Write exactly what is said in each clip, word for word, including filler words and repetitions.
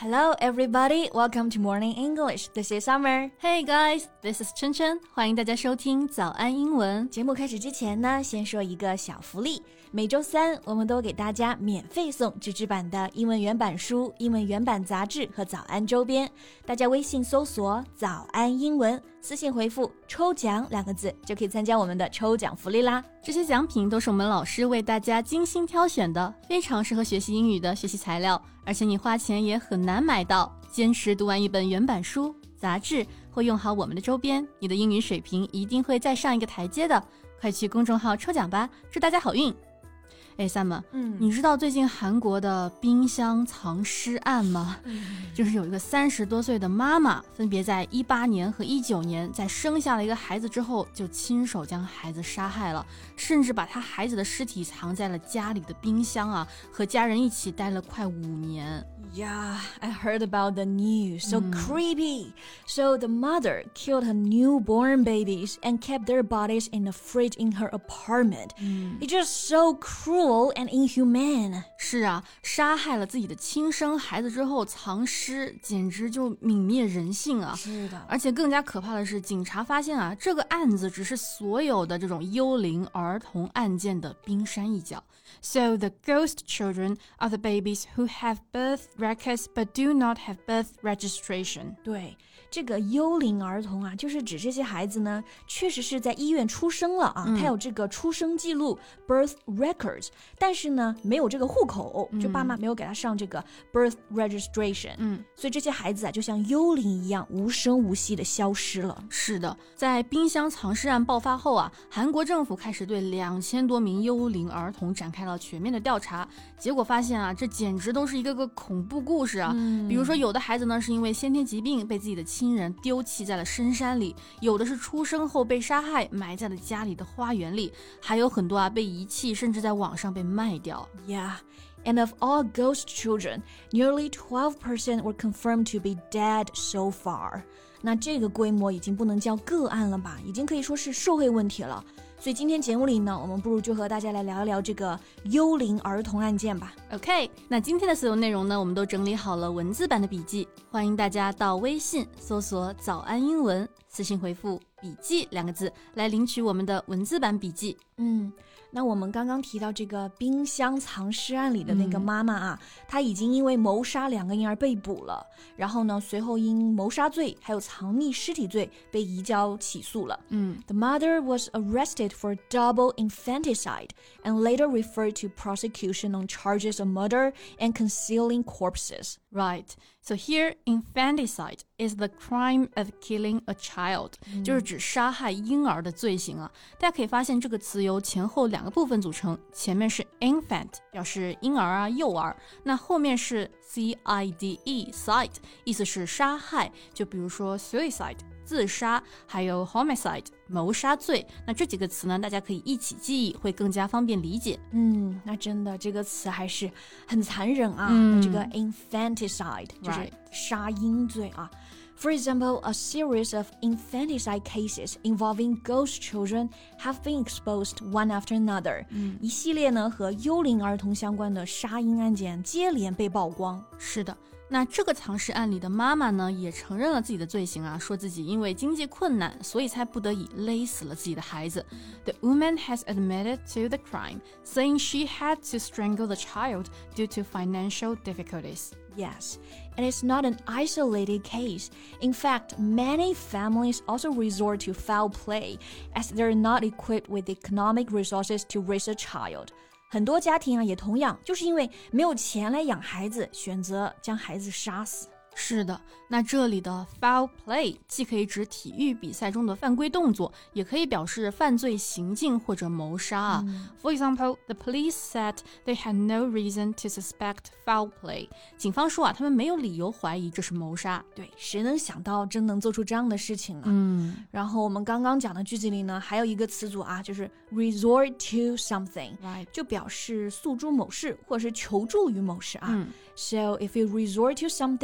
Hello, everybody. Welcome to Morning English. This is Summer. Hey guys, this is 春春。欢迎大家收听早安英文。 节目开始之前呢，先说一个小福利。每周三，我们都给大家免费送纸质版的英文原版书、英文原版杂志和早安周边。大家微信搜索“早安英文”，私信回复“抽奖”两个字，就可以参加我们的抽奖福利啦。 这些奖品都是我们老师为大家精心挑选的，非常适合学习英语的学习材料，而且你花钱也很难买到。坚持读完一本原版书、杂志，或用好我们的周边，你的英语水平一定会再上一个台阶的。快去公众号抽奖吧，祝大家好运！哎 Sam， 嗯，你知道最近韩国的冰箱藏尸案吗？嗯，就是有一个三十多岁的妈妈，分别在一八年和一九年，在生下了一个孩子之后，就亲手将孩子杀害了，甚至把他孩子的尸体藏在了家里的冰箱啊，和家人一起待了快五年。 Yeah, I heard about the news. So mm. creepy. So the mother killed her newborn babies and kept their bodies in a fridge in her apartment. Mm. It's just so cruel and inhumane. 是啊，杀害了自己的亲生孩子之后藏尸，简直就泯灭人性啊！ 是的， 而且更加可怕的是，警察发现啊，这个案子只是所有的这种幽灵儿童案件的冰山一角。So the ghost children are the babies who have birth records but do not have birth registration. 对，这个幽灵儿童啊，就是指这些孩子呢，确实是在医院出生了啊，嗯、他有这个出生记录 birth records， 但是呢，没有这个户口，就爸妈没有给他上这个 birth registration， 嗯，所以这些孩子啊，就像幽灵一样无声无息的消失了。 是的，在冰箱藏尸案爆发后啊，韩国政府开始对两千多名幽灵儿童展开了全面的调查，结果发现啊，这简直都是一个个恐怖故事啊。嗯、比如说，有的孩子呢是因为先天疾病被自己的亲人丢弃在了深山里，有的是出生后被杀害埋在了家里的花园里，还有很多啊被遗弃，甚至在网上被卖掉。 Yeah, and of all ghost children, nearly twelve percent were confirmed to be dead so far. 那这个规模已经不能叫个案了吧，已经可以说是社会问题了。所以今天节目里呢，我们不如就和大家来聊一聊这个幽灵儿童案件吧。 OK， 那今天的所有内容呢，我们都整理好了文字版的笔记，欢迎大家到微信搜索早安英文，私信回复笔记两个字来领取我们的文字版笔记。 嗯，那我们刚刚提到这个冰箱藏尸案里的那个妈妈啊，嗯、她已经因为谋杀两个婴儿被捕了，然后呢，随后因谋杀罪还有藏匿尸体罪被移交起诉了。嗯 ，The mother was arrested for double infanticide and later referred to prosecution on charges of murder and concealing corpses. Right. So here, infanticide is the crime of killing a child. 嗯、就是指杀害婴儿的罪行啊。大家可以发现这个词由前后两个部分组成，前面是 infant 表示婴儿啊幼儿，那后面是 C I D E side 意思是杀害，就比如说 suicide。自杀，还有 homicide 谋杀罪，那这几个词呢，大家可以一起记忆，会更加方便理解。 嗯，那真的这个词还是很残忍啊。嗯、这个 infanticide 就是杀婴罪啊。For example, a series of infanticide cases involving ghost children have been exposed one after another. 嗯、一系列呢和幽灵儿童相关的杀婴案件接连被曝光。 是的。那这个藏尸案里的妈妈呢，也承认了自己的罪行啊，说自己因为经济困难，所以才不得已勒死了自己的孩子。The woman has admitted to the crime, saying she had to strangle the child due to financial difficulties. Yes, and it's not an isolated case. In fact, many families also resort to foul play as they're not equipped with economic resources to raise a child.很多家庭啊，也同样就是因为没有钱来养孩子，选择将孩子杀死。 是的，那这里的 foul play 既可以指体育比赛中的犯规动作，也可以表示犯罪行径或者谋杀啊。嗯、For example, the police said they had no reason to suspect foul play. 警方说啊，他们没有理由怀疑这是谋杀。 对，谁能想到真能做出这样的事情呢？嗯。然后我们刚刚讲的句子里呢，还有一个词组啊，就是 resort to something， right. 就表示诉诸某事或者是求助于某事啊。嗯、So if you resort to something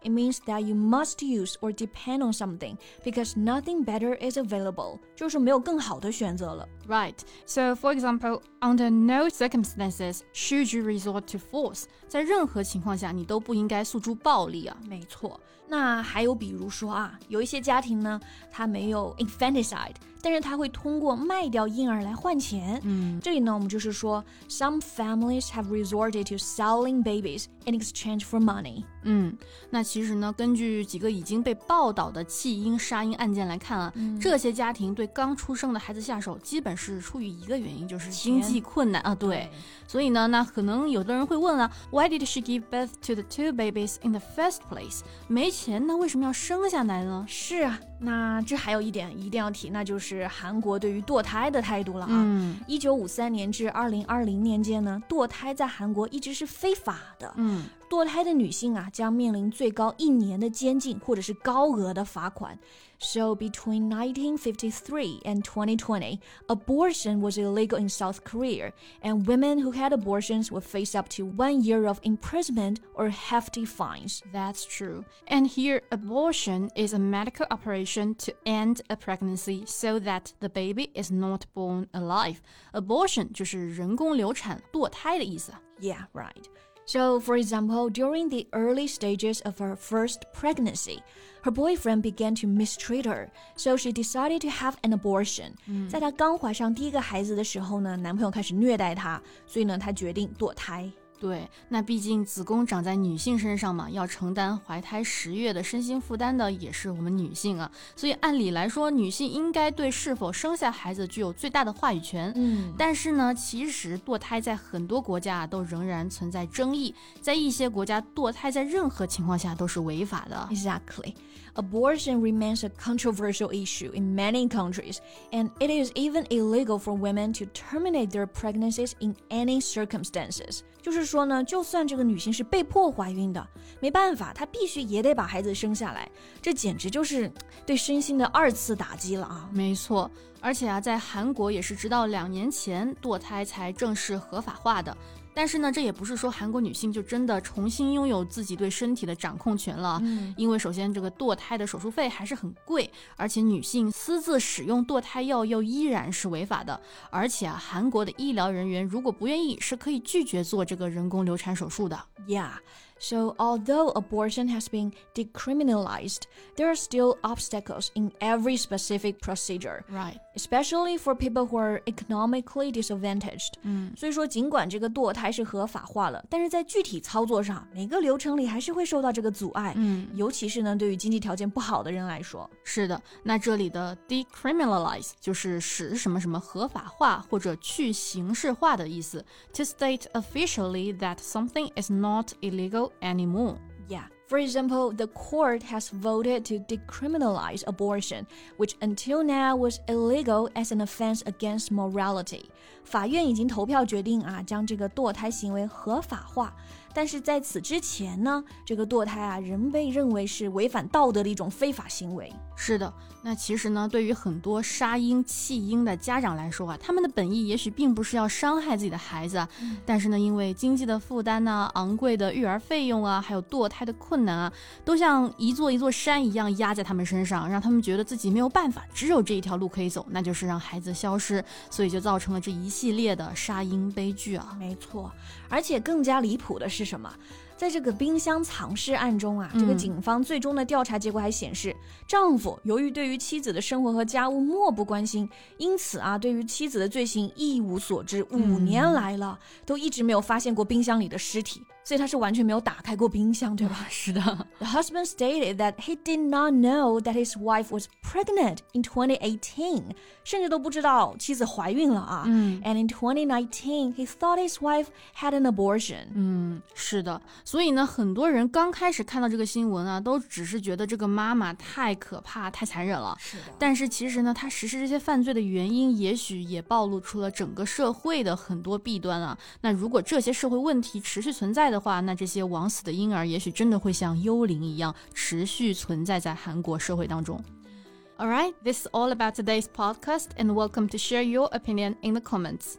it means that you must use or depend on something because nothing better is available. 就是没有更好的选择了。 Right. So, for example, under no circumstances should you resort to force. 在任何情况下，你都不应该诉诸暴力啊。 没错。那还有比如说啊，有一些家庭呢，他没有 infanticide， 但是他会通过卖掉婴儿来换钱。 嗯， 这里呢，我们就是说 some families have resorted to selling babies in exchange for money. 嗯，那其实呢，根据几个已经被报道的弃婴杀婴案件来看啊， 嗯、 这些家庭对刚出生的孩子下手，基本是出于一个原因，就是经济困难啊。对，所以呢，那可能有的人会问了 ，Why did she give birth to the two babies in the first place？ 没钱，那为什么要生下来呢？ 是啊，那这还有一点一定要提，那就是韩国对于堕胎的态度了啊。 嗯， 一九五三年至二零二零年间呢，堕胎在韩国一直是非法的。 嗯。 堕胎的女性啊，将面临最高一年的监禁或者是高额的罚款。So between nineteen fifty-three and twenty twenty, abortion was illegal in South Korea, and women who had abortions would face up to one year of imprisonment or hefty fines. That's true. And here, abortion is a medical operation to end a pregnancy so that the baby is not born alive. Abortion 就是人工流产、堕胎的意思。 Yeah, right.So, for example, during the early stages of her first pregnancy, her boyfriend began to mistreat her, so she decided to have an abortion. 在她刚怀上第一个孩子的时候呢，男朋友开始虐待她，所以呢，她决定堕胎。 对，那毕竟子宫长在女性身上嘛，要承担怀胎十月的身心负担的也是我们女性啊，所以按理来说，女性应该对是否生下孩子具有最大的话语权。 嗯， 但是呢，其实堕胎在很多国家都仍然存在争议，在一些国家，堕胎在任何情况下都是违法的。 Exactly. Abortion remains a controversial issue in many countries, and it is even illegal for women to terminate their pregnancies in any circumstances. 就是说呢，就算这个女性是被迫怀孕的，没办法，她必须也得把孩子生下来，这简直就是对身心的二次打击了啊！ 没错，而且啊，在韩国也是直到两年前堕胎才正式合法化的。但是呢，这也不是说韩国女性就真的重新拥有自己对身体的掌控权了。 嗯， 因为首先这个堕胎的手术费还是很贵，而且女性私自使用堕胎药又依然是违法的。而且啊，韩国的医疗人员如果不愿意，是可以拒绝做这个人工流产手术的。 Yeah.So, although abortion has been decriminalized, there are still obstacles in every specific procedure. Right. Especially for people who are economically disadvantaged. 嗯， 所以说尽管这个堕胎是合法化了，但是在具体操作上，每个流程里还是会受到这个阻碍。 嗯， 尤其是呢，对于经济条件不好的人来说。 是的，那这里的 decriminalize 就是使什么什么合法化或者去形式化的意思。To state officially that something is not illegal anymore. Yeah. For example, the court has voted to decriminalize abortion, which until now was illegal as an offense against morality. 法院已经投票决定啊，将这个堕胎行为合法化。但是在此之前呢，这个堕胎啊，仍被认为是违反道德的一种非法行为。 是的，那其实呢，对于很多杀婴弃婴的家长来说啊，他们的本意也许并不是要伤害自己的孩子啊， 嗯、 但是呢，因为经济的负担呢、昂贵的育儿费用啊，还有堕胎的困难啊，都像一座一座山一样压在他们身上，让他们觉得自己没有办法，只有这一条路可以走，那就是让孩子消失，所以就造成了这一系列的杀婴悲剧啊。 没错，而且更加离谱的是什么？在这个冰箱藏尸案中啊，这个警方最终的调查结果还显示，嗯、丈夫由于对于妻子的生活和家务漠不关心，因此啊，对于妻子的罪行一无所知，五年来了、嗯、都一直没有发现过冰箱里的尸体，所以他是完全没有打开过冰箱，对吧？ 是的。 The husband stated that he did not know that his wife was pregnant in twenty eighteen， 甚至都不知道妻子怀孕了啊。 嗯 And in twenty nineteen, he thought his wife had an abortion. 嗯，是的。所以呢，很多人刚开始看到这个新闻啊，都只是觉得这个妈妈太可怕、太残忍了。 是的。 但是其实呢，她实施这些犯罪的原因，也许也暴露出了整个社会的很多弊端啊。那如果这些社会问题持续存在的话，那这些枉死的婴儿也许真的会像幽灵一样持续存在在韩国社会当中。Alright, this is all about today's podcast and welcome to share your opinion in the comments.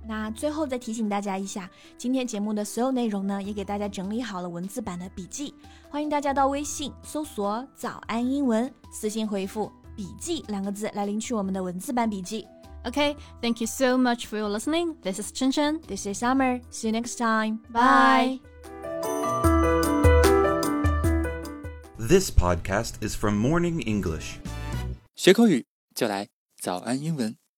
那最后再提醒大家一下，今天节目的所有内容呢，也给大家整理好了文字版的笔记，欢迎大家到微信搜索早安英文，私信回复笔记两个字来领取我们的文字版笔记。 Okay, thank you so much for your listening. This is Chen Chen. This is Summer. See you next time. Bye. This podcast is from Morning English. 学口语就来早安英文。